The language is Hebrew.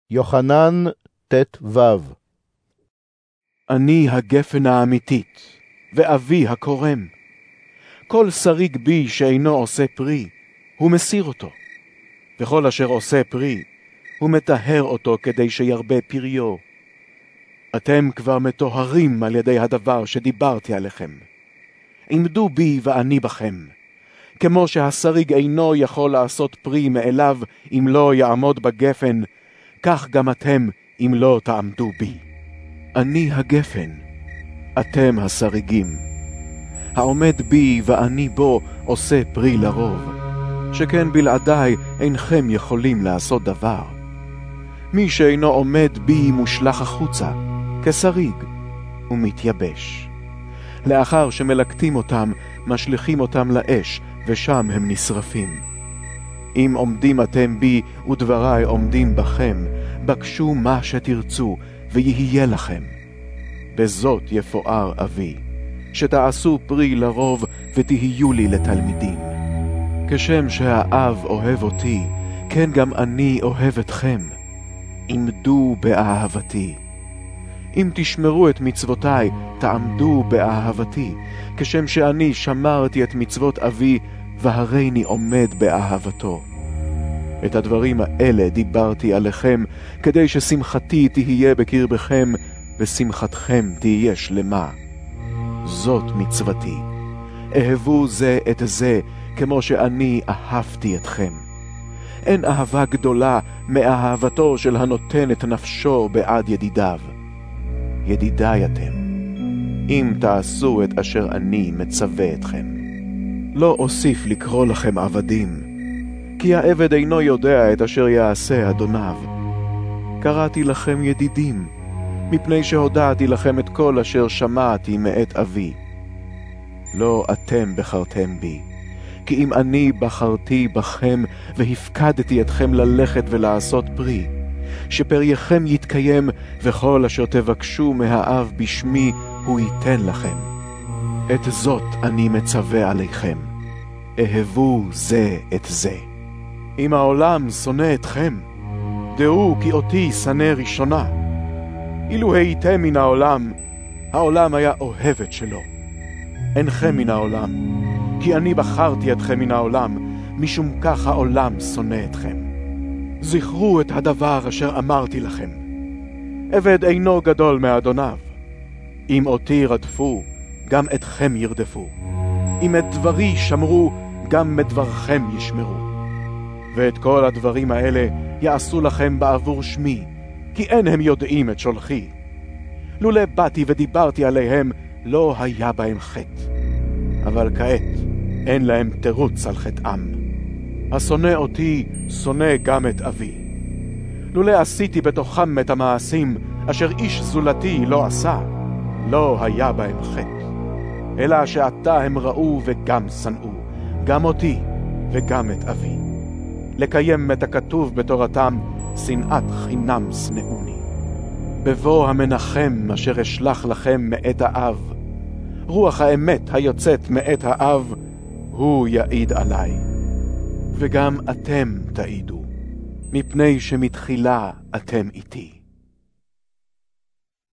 יוחנן ט"ו. אני הגפן האמיתית, ואבי הקורם. כל שריג בי שאינו עושה פרי, הוא מסיר אותו. וכל אשר עושה פרי, הוא מטהר אותו כדי שירבה פריו. אתם כבר מטוהרים על ידי הדבר שדיברתי עליכם. עמדו בי ואני בכם. כמו שהשריג אינו יכול לעשות פרי מאליו אם לא יעמוד בגפן, כך גם אתם אם לא תעמדו בי. אני הגפן, אתם השריגים. העומד בי ואני בו עושה פרי לרוב, שכן בלעדיי אינכם יכולים לעשות דבר. מי שאינו עומד בי מושלח החוצה, כשריג, ומתייבש. לאחר שמלקטים אותם, משליכים אותם לאש, ושם הם נשרפים. אם עומדים אתם בי ודבריי עומדים בכם, בקשו מה שתרצו, ויהיה לכם. בזאת יפואר אבי, שתעשו פרי לרוב ותהיו לי לתלמידים. כשם שהאב אוהב אותי, כן גם אני אוהב אתכם. עמדו באהבתי. אם תשמרו את מצוותיי, תעמדו באהבתי, כשם שאני שמרתי את מצוות אבי, והריני עומד באהבתו. את הדברים האלה דיברתי עליכם, כדי ששמחתי תהיה בקרבכם, ושמחתכם תהיה שלמה. זאת מצוותי. אהבו זה את זה, כמו שאני אהבתי אתכם. אין אהבה גדולה מאהבתו של הנותן את נפשו בעד ידידיו. ידידיי אתם, אם תעשו את אשר אני מצווה אתכם. לא אוסיף לקרוא לכם עבדים, כי העבד אינו יודע את אשר יעשה אדוניו. קראתי לכם ידידים, מפני שהודעתי לכם את כל אשר שמעתי מאת אבי. לא אתם בחרתם בי, כי אם אני בחרתי בכם והפקדתי אתכם ללכת ולעשות פרי, שפרייכם יתקיים, וכל אשר תבקשו מהאב בשמי הוא ייתן לכם. את זאת אני מצווה עליכם, אהבו זה את זה. אם העולם שונא אתכם, דעו כי אותי שנא ראשונה. אילו הייתם מן העולם, העולם היה אוהב את שלו. אינכם מן העולם, כי אני בחרתי אתכם מן העולם, משום כך העולם שונא אתכם. זכרו את הדבר אשר אמרתי לכם. עבד אינו גדול מאדוניו. אם אותי רדפו, גם אתכם ירדפו. אם את דברי שמרו, גם את דברכם ישמרו. ואת כל הדברים האלה יעשו לכם בעבור שמי, כי אין הם יודעים את שולחי. לולא באתי ודיברתי עליהם, לא היה בהם חטא. אבל כעת אין להם תירוץ על חטאם. השונא אותי, שונא גם את אבי. לולא עשיתי בתוכם את המעשים, אשר איש זולתי לא עשה, לא היה בהם חטא. אלא שעתה הם ראו וגם שנאו, גם אותי וגם את אבי. לקיים את הכתוב בתורתם, שנאת חינם שנאוני. בבוא המנחם אשר אשלח לכם מאת האב, רוח האמת היוצאת מאת האב, הוא יעיד עליי. וגם אתם תעידו, מפני שמתחילה אתם איתי.